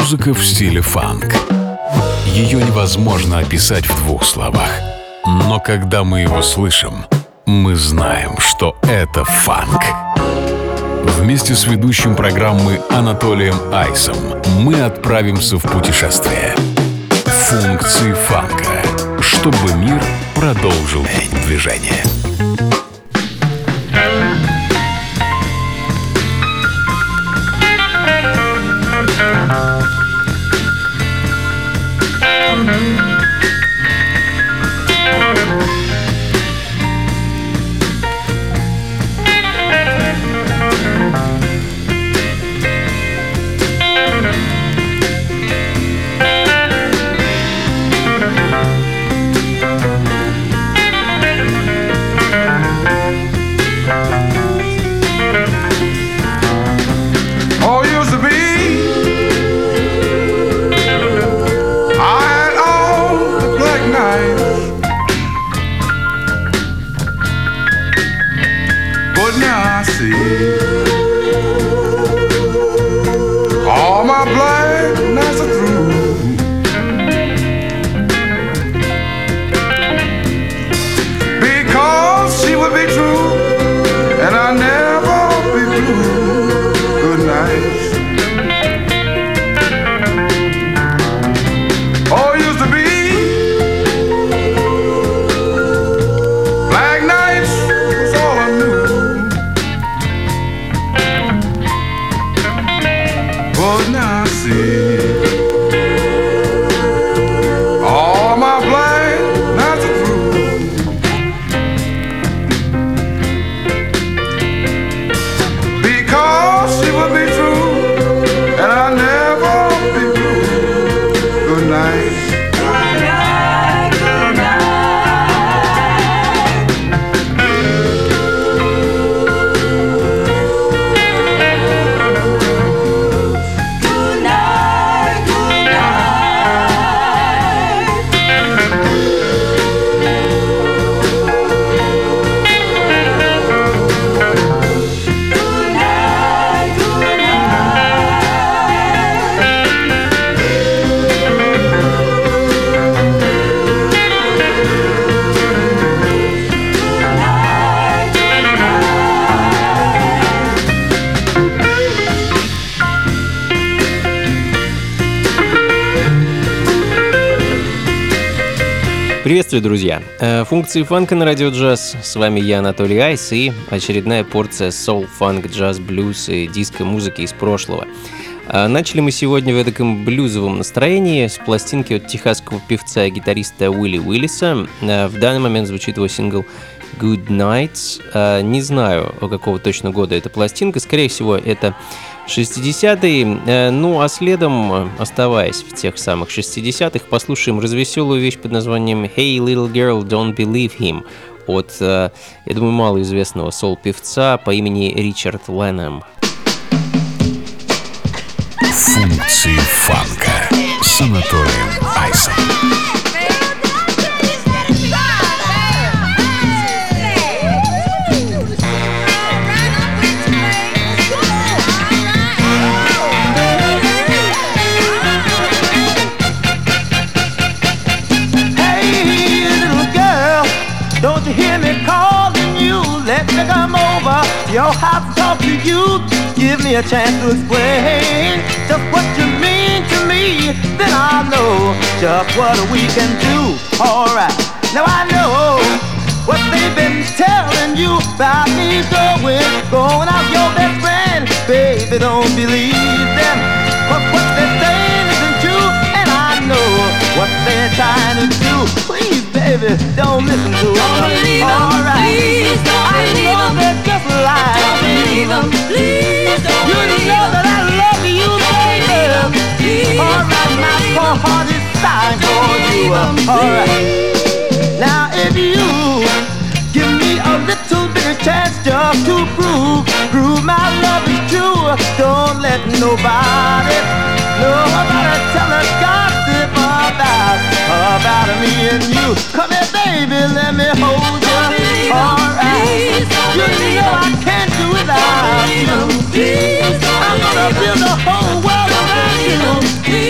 Музыка в стиле фанк. Ее невозможно описать в двух словах. Но когда мы его слышим, мы знаем, что это фанк. Вместе с ведущим программы Анатолием Айсом мы отправимся в путешествие. Функции фанка, чтобы мир продолжил движение. Приветствую, друзья! Функции фанка на радио джаз. С вами я, Анатолий Айс, и очередная порция соул, фанк, джаз, блюз и диско-музыки из прошлого. Начали мы сегодня в таком блюзовом настроении с пластинки от техасского певца и гитариста Уилли Уиллиса. В данный момент звучит его сингл Good Nights. Не знаю, какого точно года эта пластинка. Скорее всего, это 60-е. Ну, а следом, оставаясь в тех самых 60-х, послушаем развеселую вещь под названием Hey Little Girl, Don't Believe Him от, я думаю, малоизвестного соул-певца по имени Ричард Леннам. Функции фанка с Анатолием Айсом. Your house and talk to you, give me a chance to explain just what you mean to me. Then I'll know just what we can do. Alright, now I know what they've been telling you about me going out your best friend. Baby, don't believe them, 'cause what they're saying isn't true. And I know what they're trying to do. Please, baby, don't listen to them. Don't believe them, alright. Please don't believe them. They're just lying. Don't believe them, please don't believe them. You know that I love you, baby. Alright, my poor heart is dying for you. Alright. Now if you give me a little bit of chance just to prove my love is true, don't let nobody tell a gossip about me and you. Come here, baby, let me hold you. Alright, you know I can't do without you. I'm gonna build the whole world around you.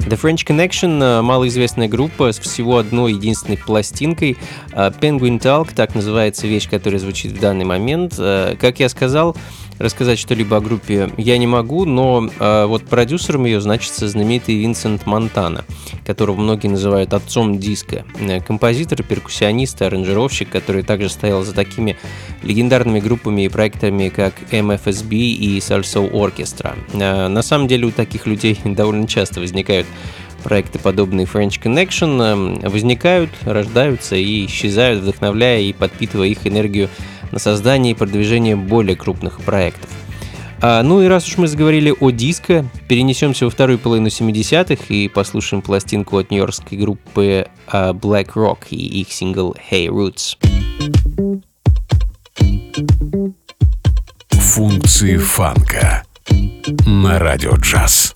The French Connection — малоизвестная группа с всего одной единственной пластинкой. Penguin Talk — так называется вещь, которая звучит в данный момент. Как я сказал, рассказать что-либо о группе я не могу, но вот продюсером ее значится знаменитый Винсент Монтана, которого многие называют отцом диска. Композитор, перкуссионист, аранжировщик, который также стоял за такими легендарными группами и проектами, как MFSB и Salsoul Orchestra. На самом деле у таких людей довольно часто возникают проекты, подобные French Connection, возникают, рождаются и исчезают, вдохновляя и подпитывая их энергию на создание и продвижение более крупных проектов. Ну и раз уж мы заговорили о диско, перенесемся во вторую половину 70-х и послушаем пластинку от нью-йоркской группы Black Rock и их сингл Hey Roots. Функции фанка на радио джаз.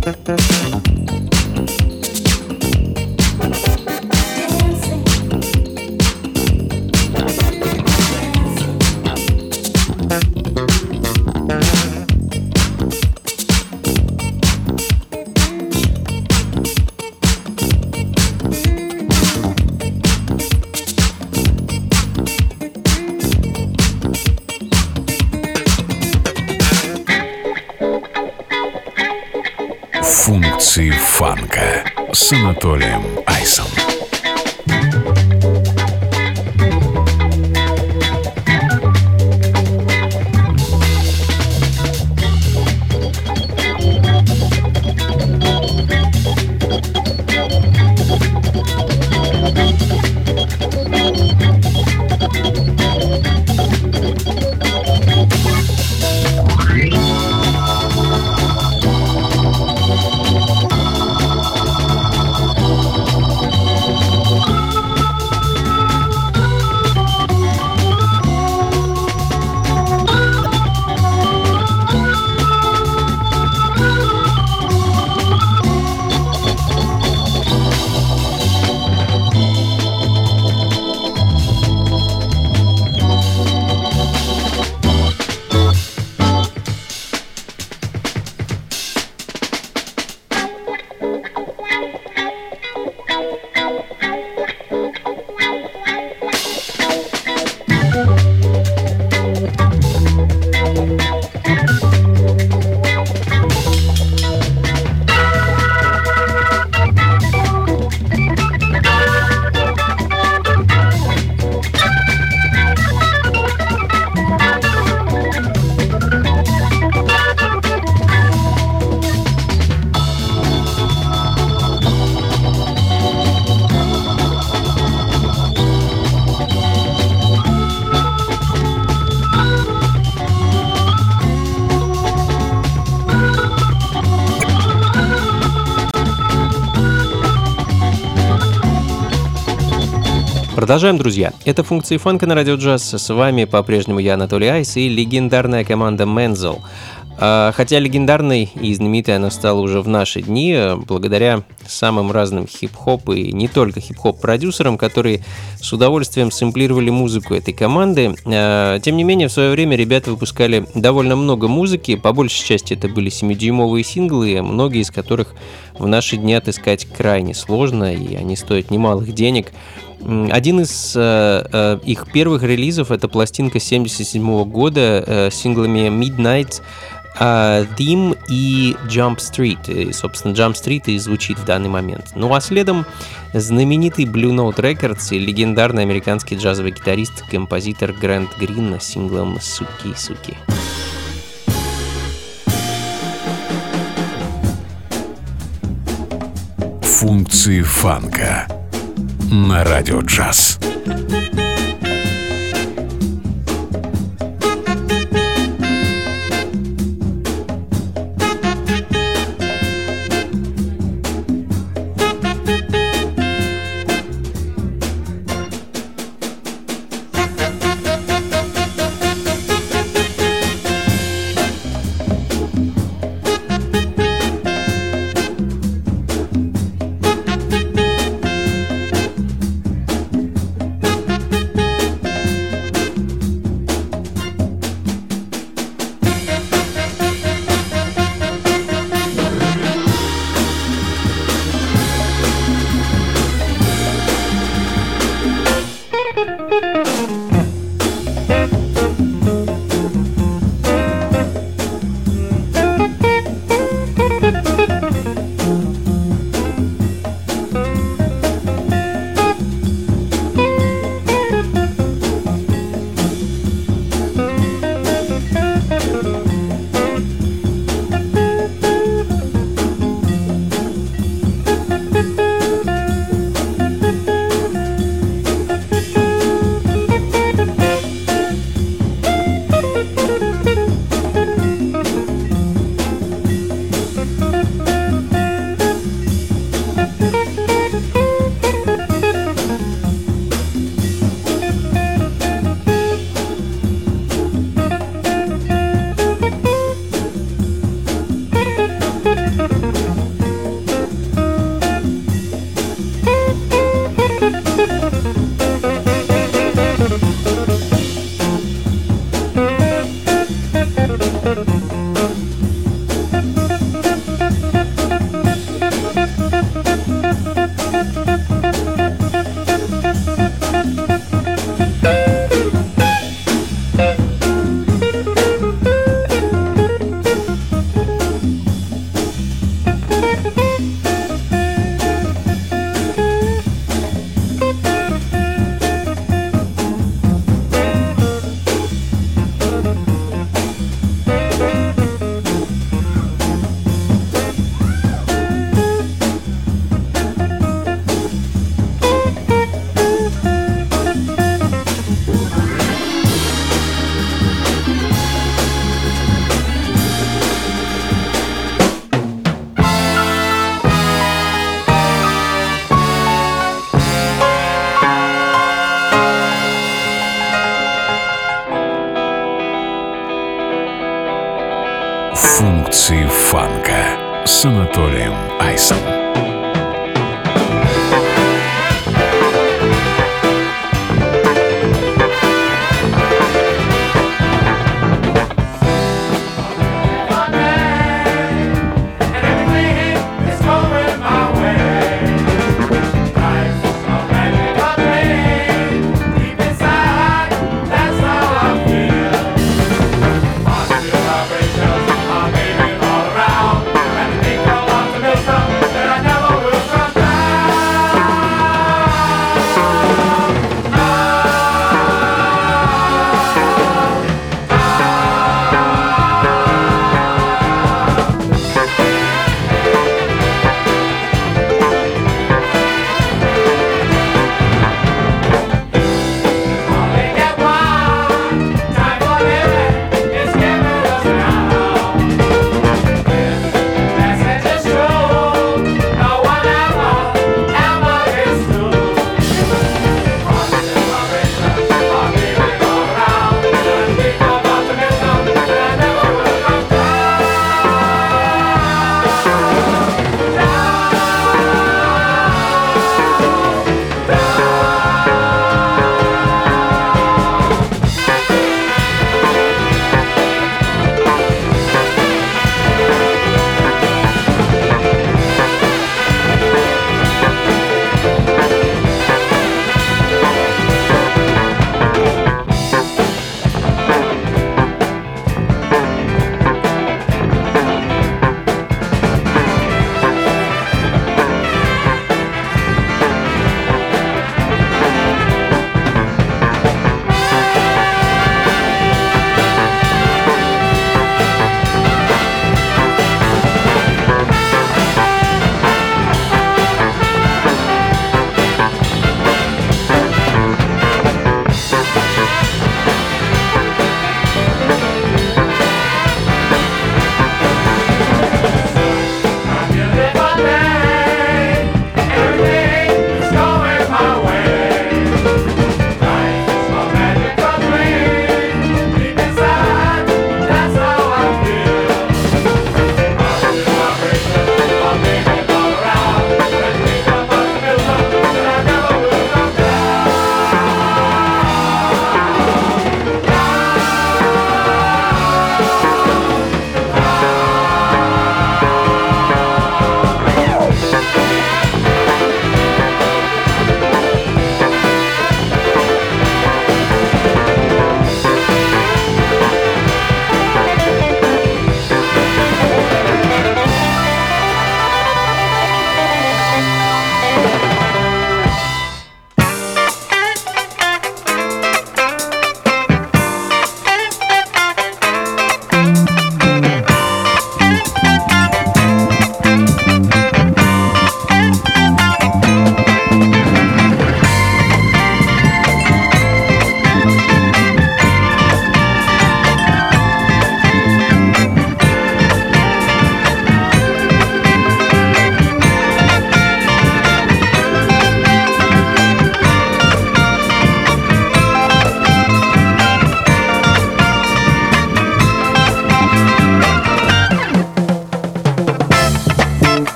Функции фанка с Анатолием Айсом. Продолжаем, друзья. Это функции фанка на радио джаз. С вами по-прежнему я, Анатолий Айс, и легендарная команда Menzel. Хотя легендарной и знаменитой она стала уже в наши дни, благодаря самым разным хип-хоп и не только хип-хоп-продюсерам, которые с удовольствием сэмплировали музыку этой команды. Тем не менее, в свое время ребята выпускали довольно много музыки, по большей части это были 7-дюймовые синглы, многие из которых в наши дни отыскать крайне сложно, и они стоят немалых денег. Один из их первых релизов — это пластинка 1977 года с синглами Midnight, Theme и Jump Street. И, собственно, Jump Street и звучит в данный момент. Ну а следом знаменитый Blue Note Records и легендарный американский джазовый гитарист, композитор Грэнд Грин с синглом «Суки-суки». Функции фанка на радио джаз. Функции фанка с Анатолием Айсом. Vibrations are moving all around, and the people want to know something that I never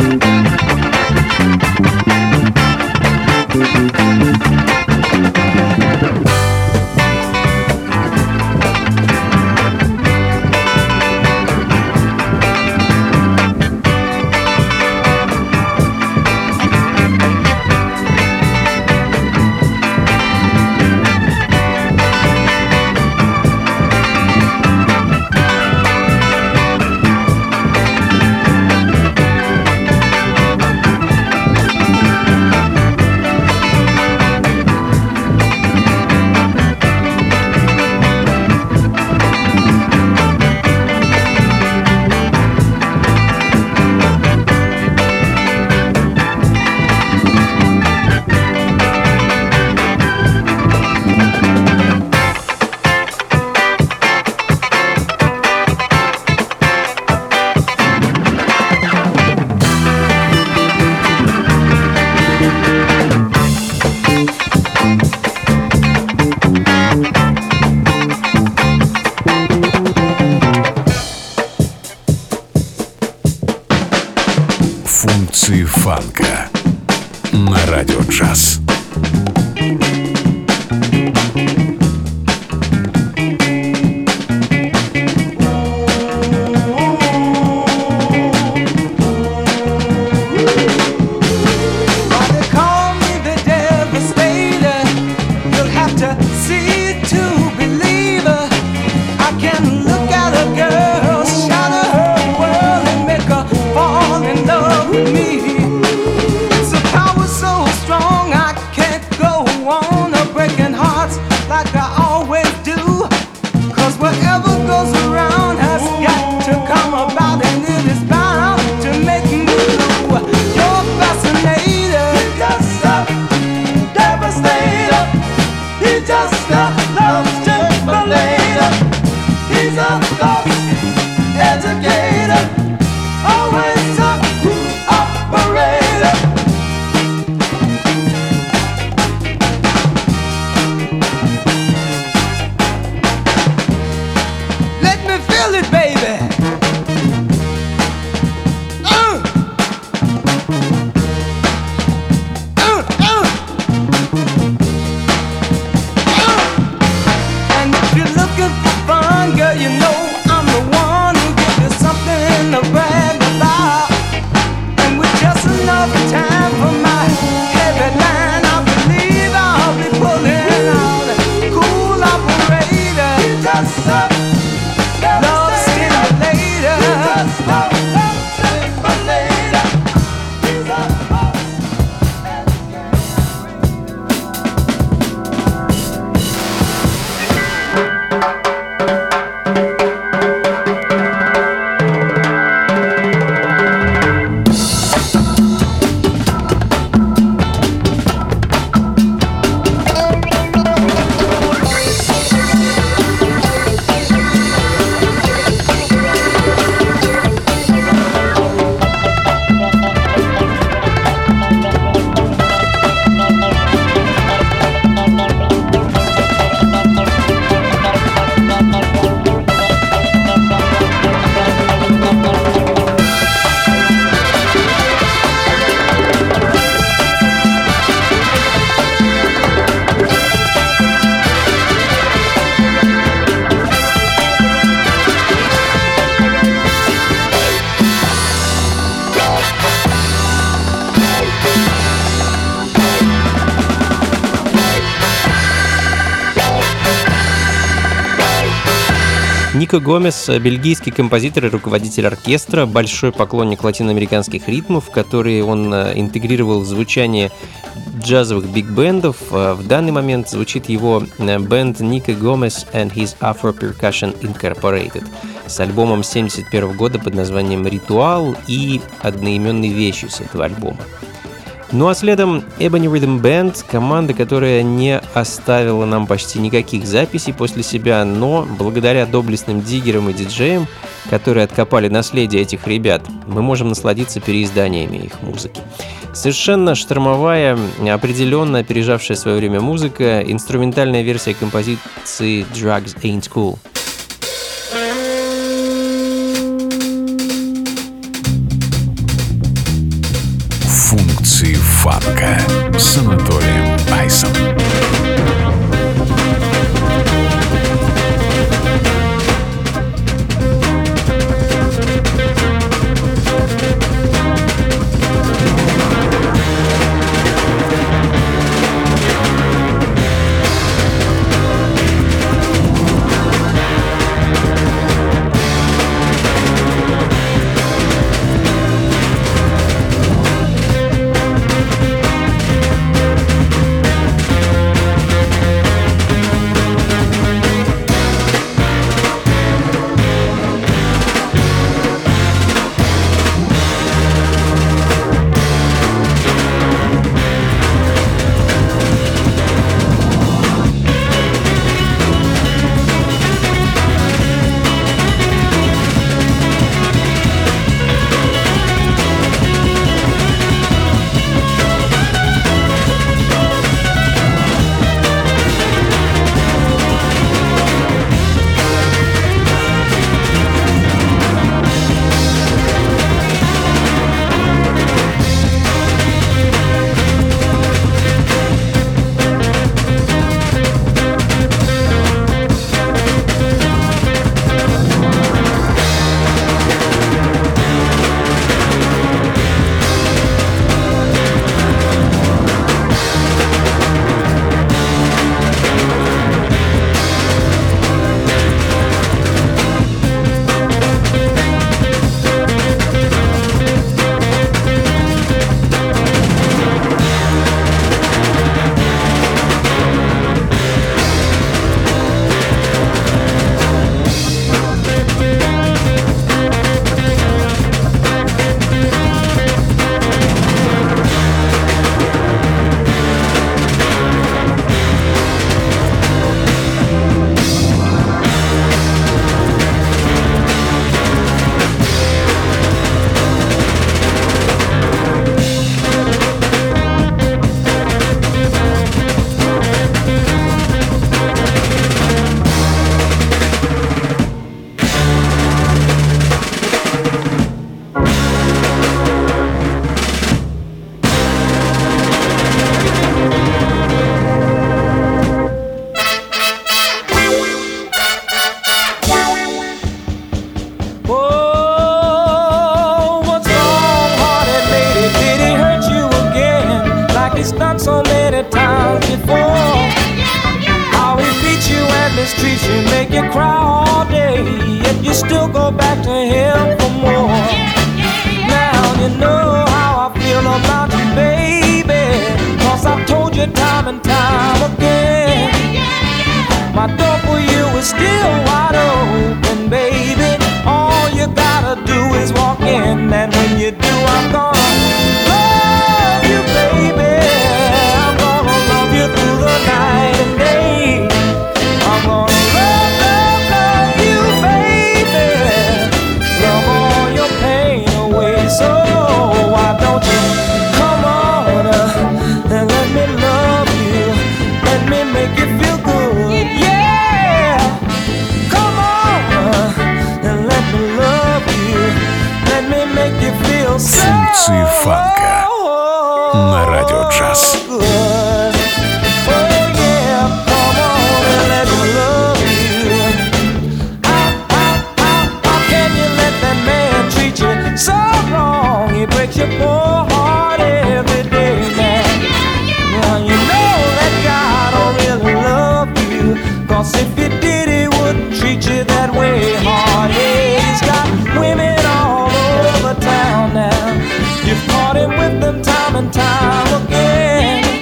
Функции фанка на радио джаз. Нико Гомес — бельгийский композитор и руководитель оркестра, большой поклонник латиноамериканских ритмов, которые он интегрировал в звучание джазовых биг-бендов. В данный момент звучит его бенд Нико Гомес and His Afro Percussion Incorporated с альбомом 1971 года под названием «Ритуал» и одноименной вещью с этого альбома. Ну а следом Ebony Rhythm Band, команда, которая не оставила нам почти никаких записей после себя, но благодаря доблестным диггерам и диджеям, которые откопали наследие этих ребят, мы можем насладиться переизданиями их музыки. Совершенно штормовая, определенно опережавшая свое время музыка, инструментальная версия композиции «Drugs Ain't Cool». Функции фанка с Анатолием Айсом. Функции фанка на радио джаз. If he did, he wouldn't treat you that way hard. Yeah, he's got women all over town now. You've caught him with them time and time again.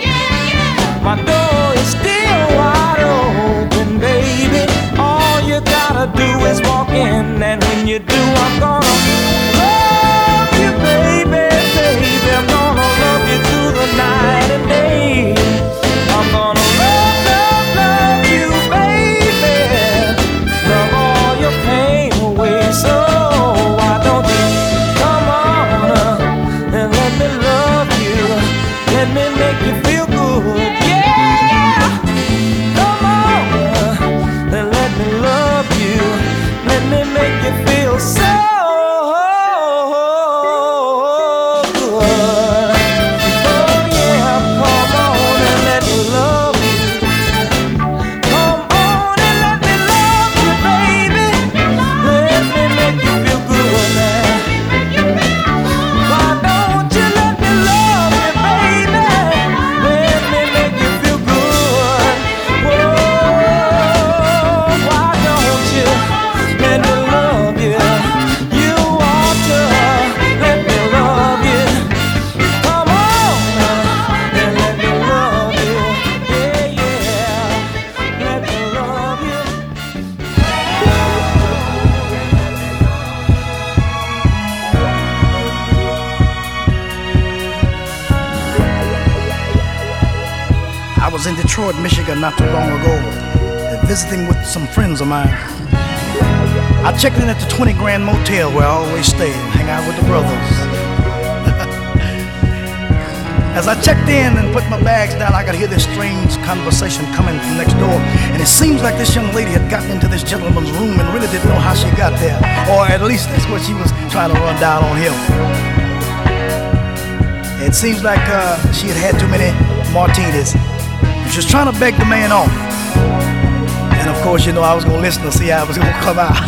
I was in Detroit, Michigan not too long ago, visiting with some friends of mine. I checked in at the 20 Grand Motel where I always stay and hang out with the brothers. As I checked in and put my bags down, I could hear this strange conversation coming from next door. And it seems like this young lady had gotten into this gentleman's room and really didn't know how she got there. Or at least that's what she was trying to run down on him. It seems like she had had too many martinis. She was trying to beg the man off. And of course, you know, I was going to listen to see how it was going to come out.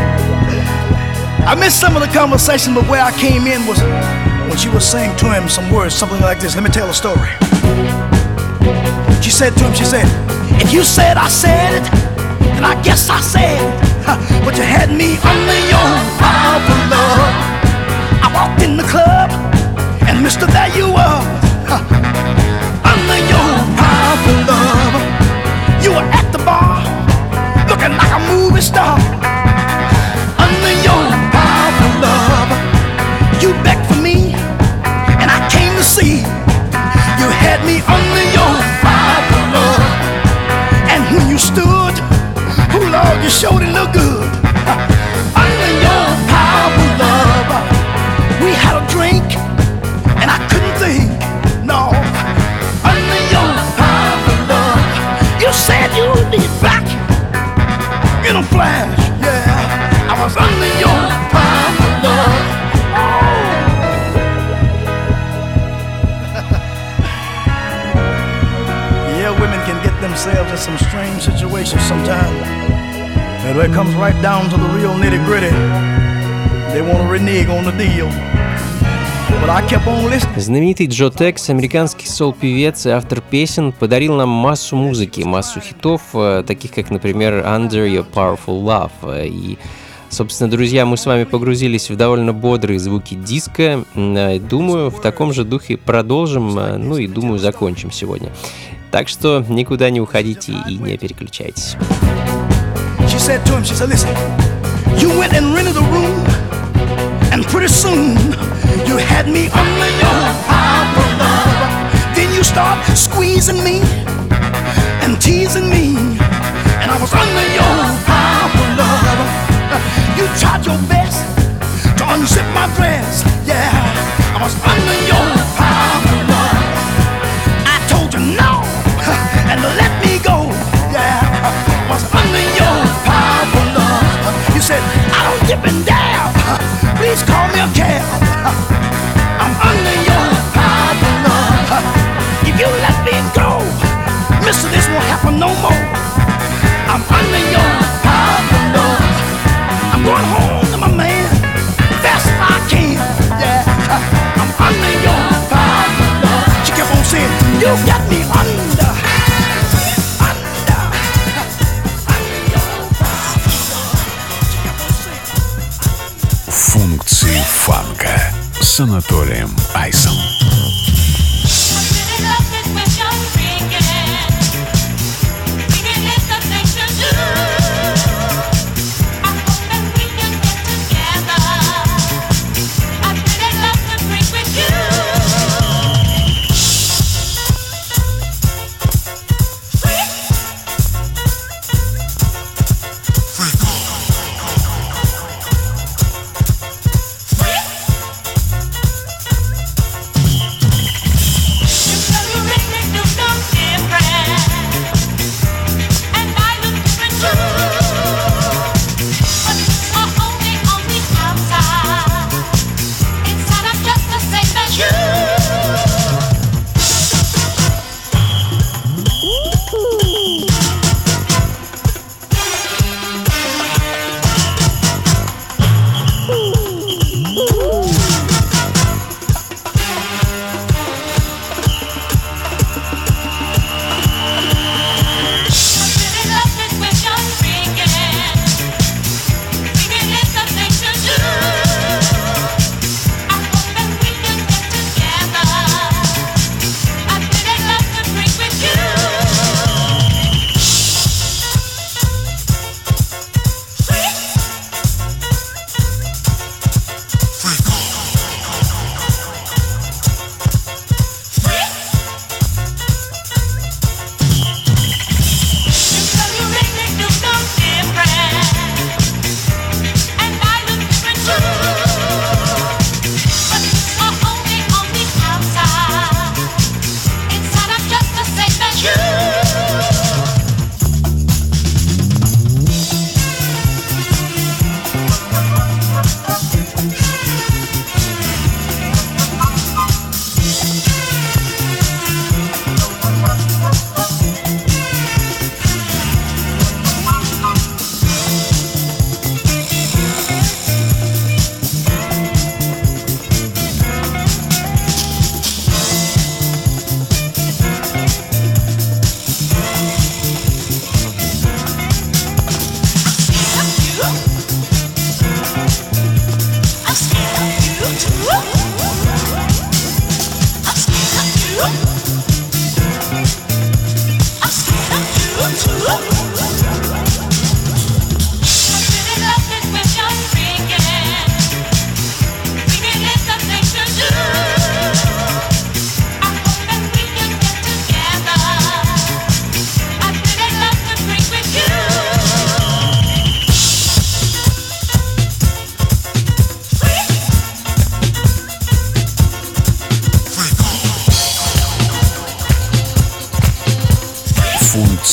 I missed some of the conversation, but where I came in was when she was saying to him some words, something like this. Let me tell a story. She said to him, she said, if you said I said it, then I guess I said it. But you had me under your powerful love. I walked in the club, and mister, there you were. Under your powerful love. You were at the bar, looking like a movie star. Under your powerful love. You begged for me, and I came to see. You had me under your powerful love. And when you stood, oh Lord, you sure did look good. Under your powerful love. We had a drink, and I couldn't think, no. Under your powerful love. You said you'd be back in a flash, yeah. I was under your powerful love. Yeah, women can get themselves in some strange situations sometimes. And when it comes right down to the real nitty-gritty, they want to renege on the deal. But I kept on listening. Знаменитый Джо Текс, американский сол-певец и автор песен, подарил нам массу музыки, массу хитов, таких как, например, Under Your Powerful Love. И, собственно, друзья, мы с вами погрузились в довольно бодрые звуки диска. Думаю, в таком же духе продолжим, ну и, думаю, закончим сегодня. Так что никуда не уходите и не переключайтесь. She said to him, she said, listen, you went and rented a room, and pretty soon you had me under your powerful love. Then you start squeezing me and teasing me, and I was under your powerful love. You tried your best to unzip my dress, yeah. I was under your powerful love. I told you no, and let me go, yeah. I was under your powerful love. You said, I don't dip and dab, please call me a cab. I'm under your powerful love. If you let me go, mister, this won't happen no more. I'm under your powerful love. I'm going home to my man, fast as I can, yeah. I'm under your powerful love. She kept on saying, you got me under. Функции фанка с Анатолием Айсом.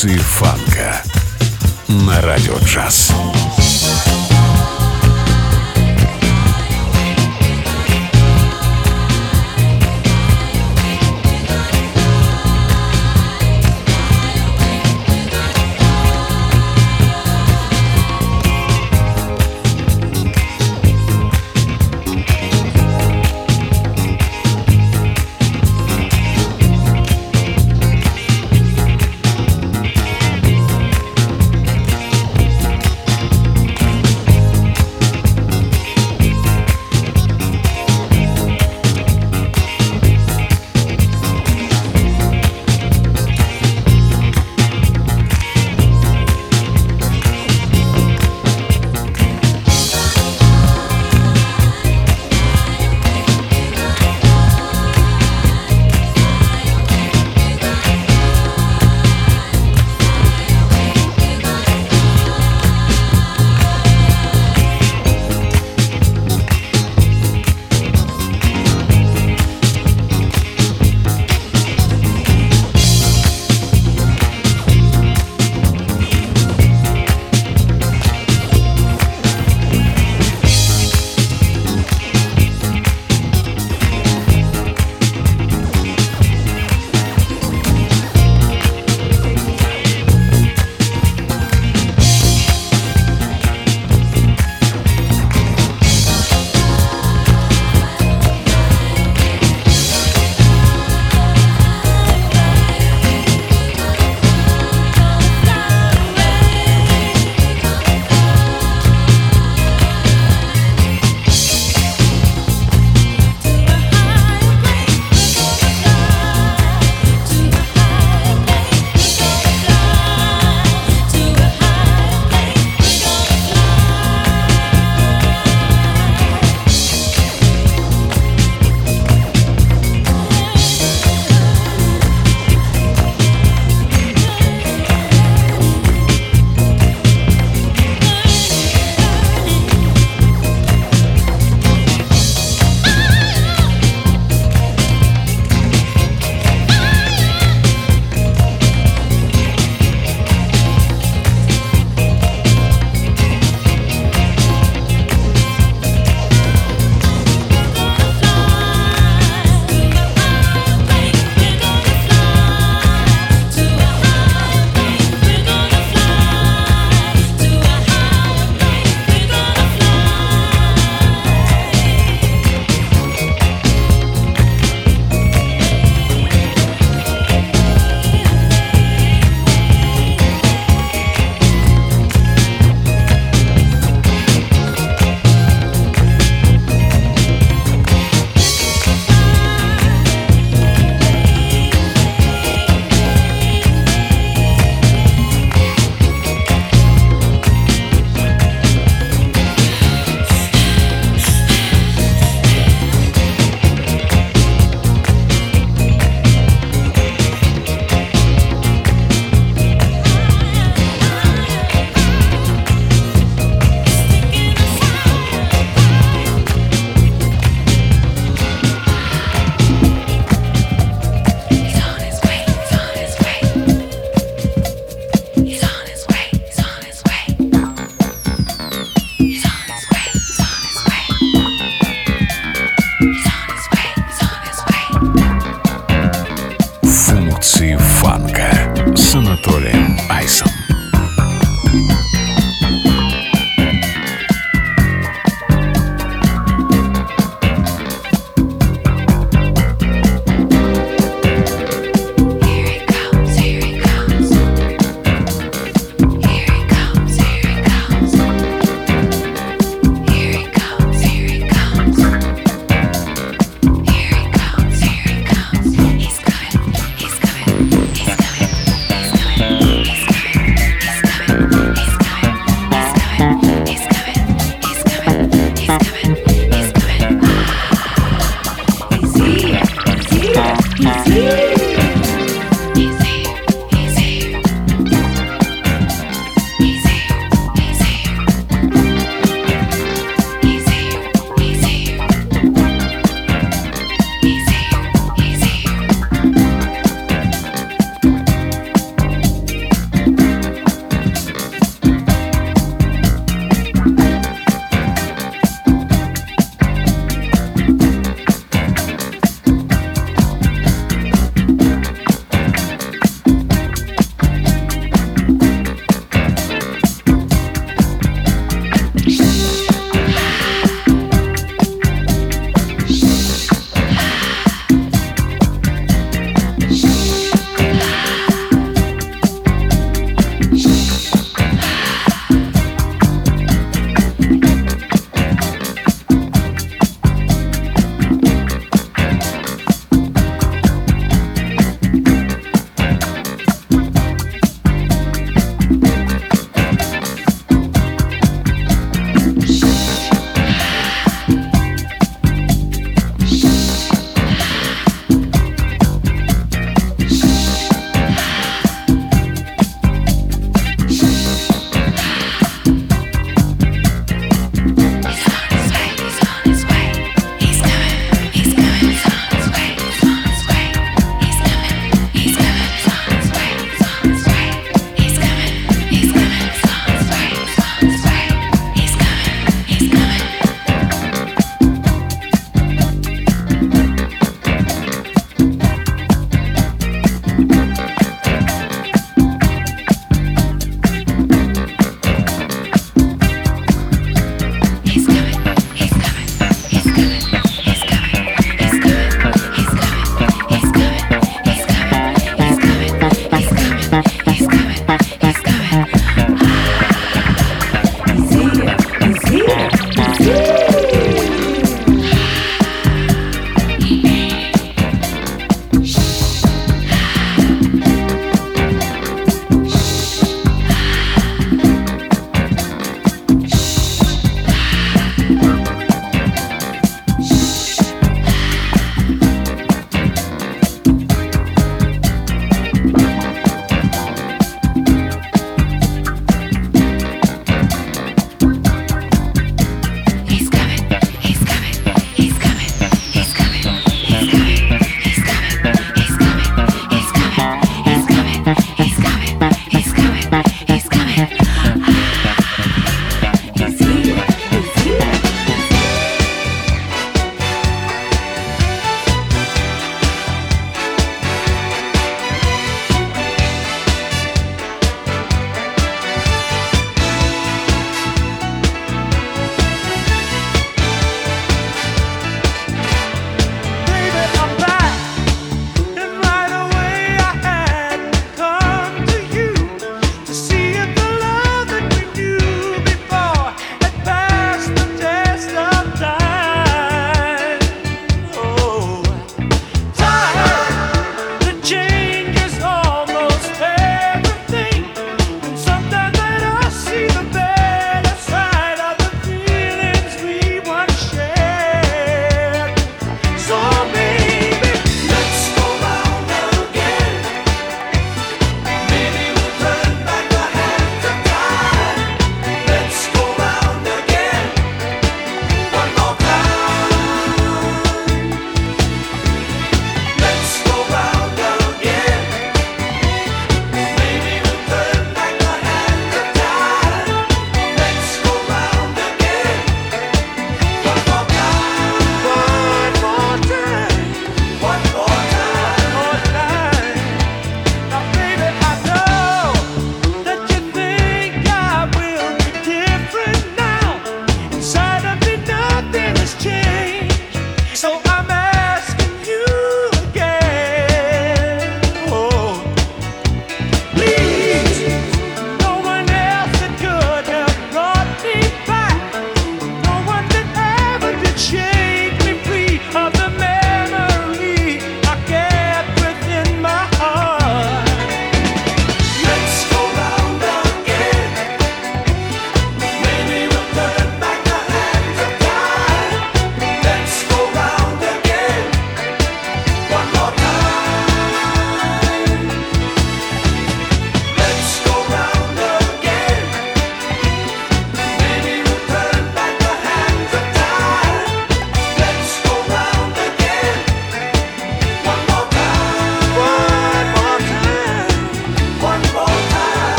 Функции фанка на Радио Джаз.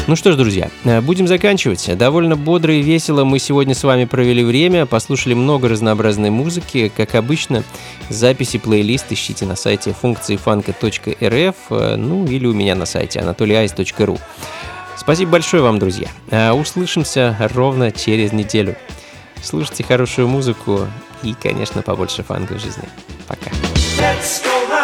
Ну что ж, друзья, будем заканчивать. Довольно бодро и весело мы сегодня с вами провели время, послушали много разнообразной музыки. Как обычно, записи, плейлист ищите на сайте функциифанка.рф, ну или у меня на сайте anatolyice.ru. Спасибо большое вам, друзья. Услышимся ровно через неделю. Слушайте хорошую музыку и, конечно, побольше фанка в жизни. Пока. Let's go